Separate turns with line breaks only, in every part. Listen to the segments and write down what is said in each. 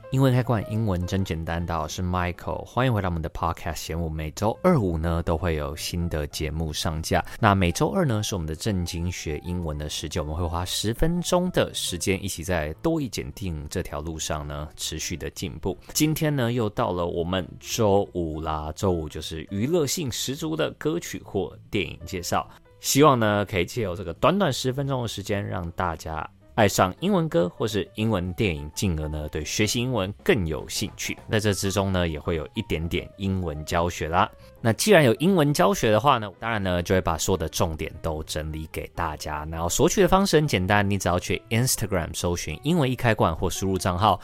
英文開罐，英文真簡單。大家好，我是 Michael， 歡迎回到我們的 Podcast 節目。每周二五呢都會有新的節目上架。那每周二呢是我們的正經學英文的時間，我們會花10分鐘的時間，一起在多益檢定這條路上呢持續的進步。今天呢又到了我們周五啦，周五就是娛樂性十足的歌曲或電影介紹。希望呢可以借由這個短短10分鐘的時間，讓大家愛上英文歌或是英文電影，進而呢對學習英文更有興趣。在這之中呢也會有一點點英文教學啦。那既然有英文教學的話呢，當然呢就會把所有的重點都整理給大家。然後索取的方式很簡單，你只要去 Instagram 搜尋英文易開罐，或輸入賬號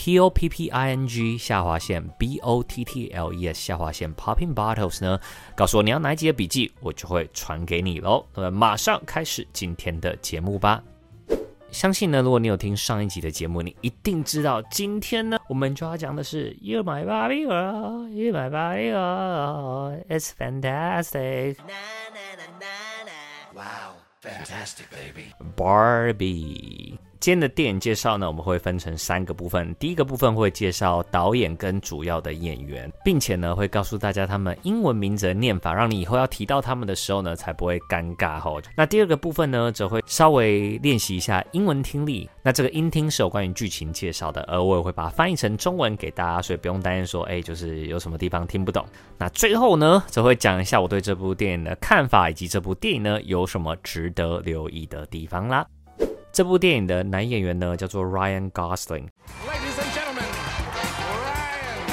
POPPING_BOTTLES_Popping Bottles 呢，告訴我你要哪一集的筆記，我就會傳給你咯。那麼馬上開始今天的節目吧。相信呢，如果你有聽上一集的節目，你一定知道今天呢，我們就要講的是 You're my Barbie girl, You're my Barbie girl, It's fantastic.
Wow, fantastic, baby.
Barbie。今天的電影介紹呢，我們會分成3個部分。第一個部分會介紹導演跟主要的演員，並且呢會告訴大家他們英文名字的念法，讓你以後要提到他們的時候呢才不會尷尬吼。那第二個部分呢，則會稍微練習一下英文聽力。那這個音聽是有關於劇情介紹的，而我也會把它翻譯成中文給大家，所以不用擔心說，就是有什麼地方聽不懂。那最後呢，則會講一下我對這部電影的看法，以及這部電影呢有什麼值得留意的地方啦。這部電影的男演員呢叫做 Ryan Gosling。Ladies and gentlemen, Ryan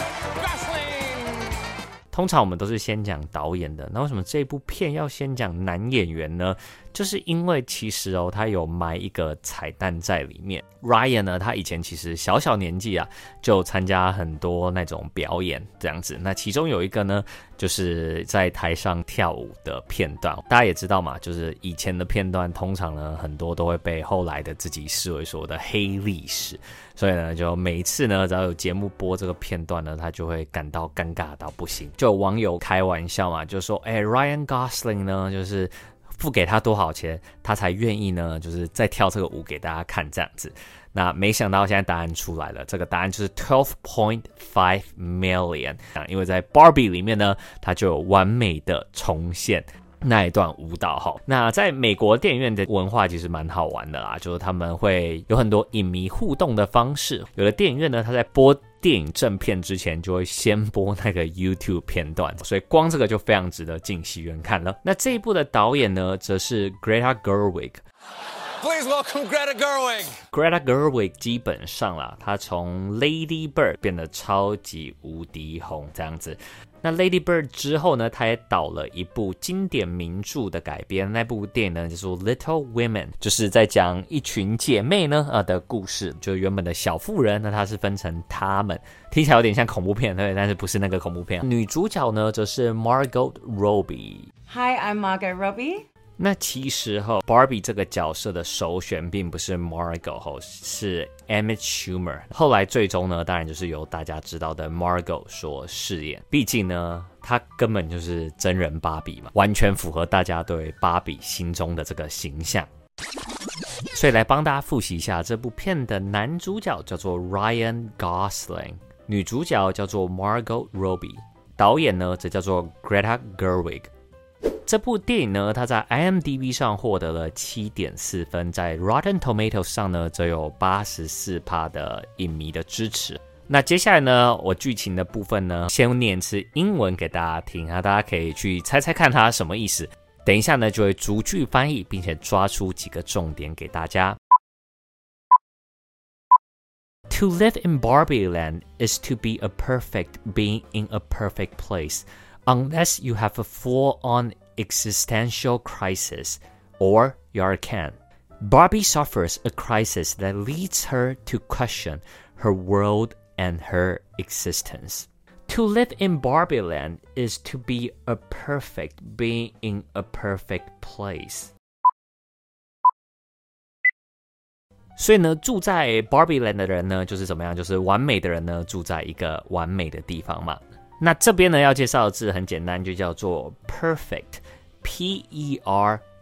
Gosling。通常我們都是先講導演的，那為什麼這部片要先講男演員呢？就是因為其實他有埋一個彩蛋在裡面。Ryan 呢，他以前其實小年紀就參加很多那種表演這樣子。那其中有一個呢，就是在台上跳舞的片段。大家也知道嘛，就是以前的片段通常呢，很多都會被後來的自己視為所謂的黑歷史。所以呢，就每一次呢，只要有節目播這個片段呢，他就會感到尷尬到不行。就有網友開玩笑嘛，就說Ryan Gosling 呢，就是付給他多少錢，他才願意呢，就是再跳這個舞給大家看這樣子。那沒想到現在答案出來了，這個答案就是 12.5 million。因為在 Barbie 裡面呢，它就有完美的重現那一段舞蹈哈。那在美國電影院的文化其實蠻好玩的啦，就是他們會有很多影迷互動的方式。有的電影院呢，它在播電影正片之前就會先播那個 YouTube 片段，所以光這個就非常值得進戲院看了。那這一部的導演呢，則是 Greta Gerwig。Please welcome Greta Gerwig。Greta Gerwig 基本上啦，她從 Lady Bird 變得超級無敵紅這樣子。那 Lady Bird 之後呢，他也導了一部經典名著的改編，那部電影呢叫做 Little Women， 就是在講一群姐妹呢的故事，就原本的小婦人，那它是分成她們，聽起來有點像恐怖片，對，但是不是那個恐怖片。女主角呢則是 Margot Robbie。Hi,
I'm Margot Robbie。
那其實Barbie 這個角色的首選並不是 Margot， 是 Amy Schumer。後來最終呢，當然就是由大家知道的 Margot 所飾演。畢竟呢，她根本就是真人芭比嘛，完全符合大家對芭比心中的這個形象。所以來幫大家複習一下，這部片的男主角叫做 Ryan Gosling， 女主角叫做 Margot Robbie， 導演呢則叫做 Greta Gerwig。這部電影呢，它在 IMDB 上獲得了 7.4 分，在 Rotten Tomatoes 上呢，則有 84% 的影迷的支持。那接下來呢，我劇情的部分呢，先念一次英文給大家聽，大家可以去猜猜看它什麼意思。等一下呢，就會逐句翻譯，並且抓出幾個重點給大家。To live in Barbie Land is to be a perfect being in a perfect place, unless you have a full-on existential crisis, or you're a Ken. Barbie suffers a crisis that leads her to question her world and her existence. To live in Barbie Land is to be a perfect being in a perfect place. 所以呢，住在 Barbie Land 的人呢，就是怎麼樣？就是完美的人呢，住在一個完美的地方嘛。那這邊呢要介紹的字很簡單，就叫做 perfect，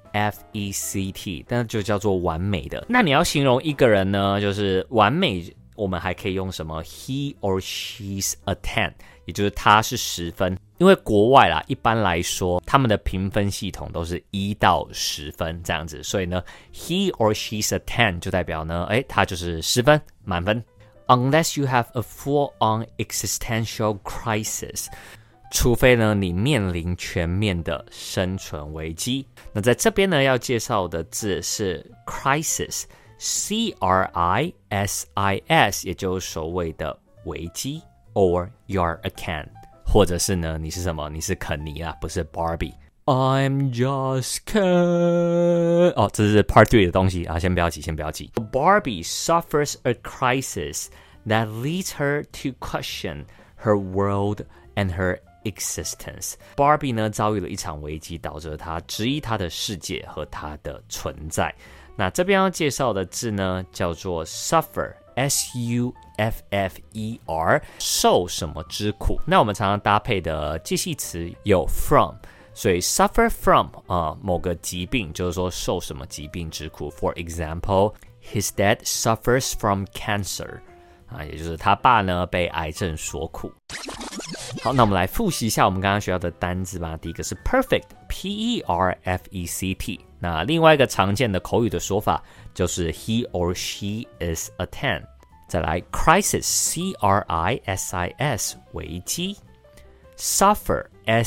P-E-R-F-E-C-T， 但就叫做完美的。那你要形容一個人呢，就是完美我們還可以用什麼 he or she's a 10， 也就是他是10分。因為國外啦，一般來說他們的評分系統都是1到10分這樣子，所以呢 he or she's a 10 就代表呢，他就是10分，滿分。Unless you have a full-on existential crisis， 除非呢你面臨全面的生存危機。那在這邊呢要介紹的字是 crisis， C-R-I-S-I-S， 也就是所謂的危機 ，or you're a Ken， 或者是呢你是什麼？你是肯尼啦，不是 Barbie。I'm just Ken。哦，這是 Part 3的東西啊，先不要急。Barbie suffers a crisis that leads her to question her world and her existence。 Barbie 呢遭遇了一場危機，導致她質疑她的世界和她的存在。那這邊要介紹的字呢叫做 suffer， S-U-F-F-E-R， 受什麼之苦。那我們常常搭配的介系詞有 from，所以 suffer from 某個疾病，就是說受什麼疾病之苦。For example, his dad suffers from cancer， 也就是他爸呢被癌症所苦。好，那我們來複習一下我們剛剛學到的單字吧。第一個是 perfect， P-E-R-F-E-C-T。那另外一個常見的口語的說法就是 he or she is a 10。再來 crisis， C-R-I-S-I-S， 危機。Suffer，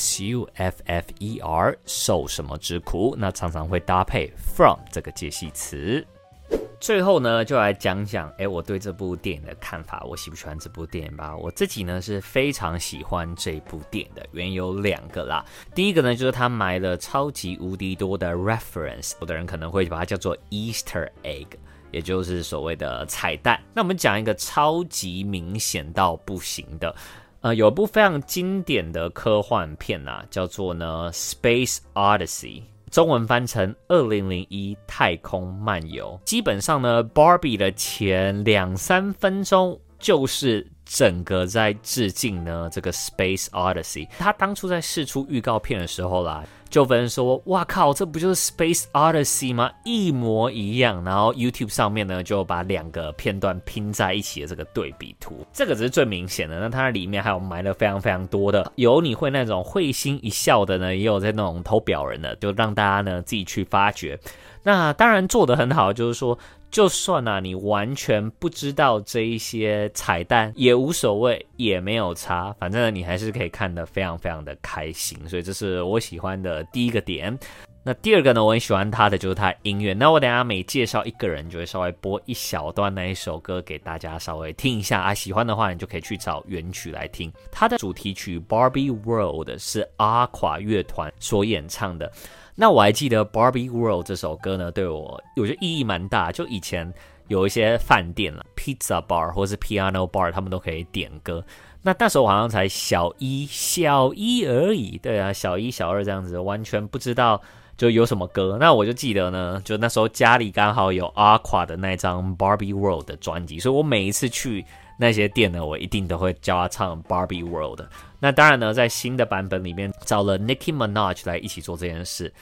S-U-F-F-E-R， 受什麼之苦，那常常會搭配 from 這個介系詞。最後呢，就來講講，我對這部電影的看法，我喜不喜歡這部電影吧？我自己呢是非常喜歡這部電影的，原因有2個啦。第一個呢，就是它埋了超級無敵多的 reference， 有的人可能會把它叫做 Easter egg， 也就是所謂的彩蛋。那我們講一個超級明顯到不行的。有一部非常經典的科幻片啊，叫做呢 Space Odyssey， 中文翻成2001太空漫遊。基本上呢 Barbie 的前2-3分鐘就是整個在致敬呢這個 Space Odyssey。他當初在釋出預告片的時候啦，就分說哇靠，這不就是 Space Odyssey 嗎？一模一樣。然後 YouTube 上面呢就把2個片段拼在一起的這個對比圖，這個只是最明顯的。那它裡面還有埋了非常非常多的，有你會那種會心一笑的呢，也有在那種偷表人的，就讓大家呢自己去發掘。那當然做得很好，就是說就算你完全不知道這一些彩蛋也無所謂，也沒有差，反正你還是可以看得非常非常的開心。所以這是我喜歡的第一個點。那第二個呢，我很喜歡他的就是他的音樂。那我等一下每介紹一個人，就會稍微播一小段那一首歌給大家稍微聽一下啊。喜歡的話，你就可以去找原曲來聽。他的主題曲 Barbie World 是 Aqua 樂團所演唱的。那我還記得 Barbie World 這首歌呢，對我覺得意義蠻大。就以前有一些飯店啦 Pizza Bar 或是 Piano Bar， 他們都可以點歌。那時候我好像才小一而已，對啊，小1、小2這樣子，完全不知道就有什麼歌。那我就記得呢，就那時候家裡剛好有 Aqua 的那張 Barbie World 的專輯，所以我每一次去那些店呢，我一定都會叫他唱 Barbie World。那當然呢，在新的版本裡面找了 Nicki Minaj 來一起做這件事。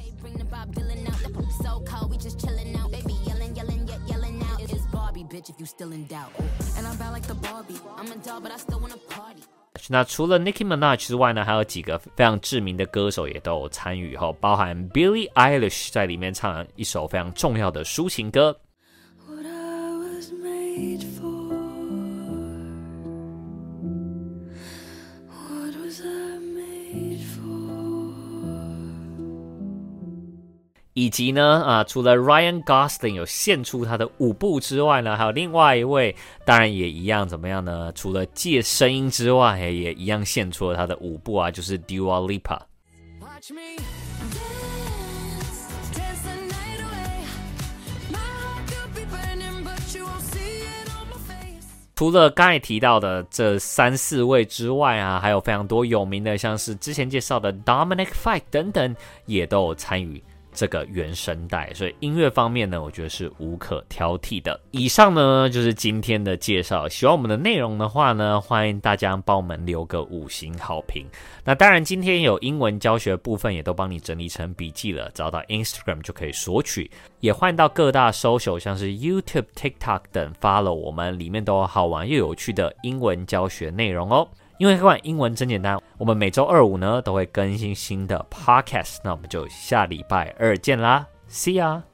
那除了 Nicki Minaj 之外呢，還有幾個非常知名的歌手也都有參與，包含 Billie Eilish 在裡面唱了一首非常重要的抒情歌。以及呢，除了 Ryan Gosling 有獻出他的舞步之外呢，還有另外一位，當然也一樣，怎麼樣呢？除了借聲音之外，也一樣獻出了他的舞步啊，就是 Dua Lipa。除了剛才提到的這3-4位之外啊，還有非常多有名的，像是之前介紹的 Dominic Fike 等等，也都有參與這個原聲帶，所以音樂方面呢，我覺得是無可挑剔的。以上呢就是今天的介紹，喜歡我們的內容的話呢，歡迎大家幫我們留個5星好評。那當然，今天有英文教學部分也都幫你整理成筆記了，找到 Instagram 就可以索取。也歡迎到各大 social 像是 YouTube、TikTok 等 follow 我們，裡面都有好玩又有趣的英文教學內容哦。因為看英文真簡單，我們每周2、5呢都會更新新的 podcast，那我們就下禮拜2見啦 ，See ya。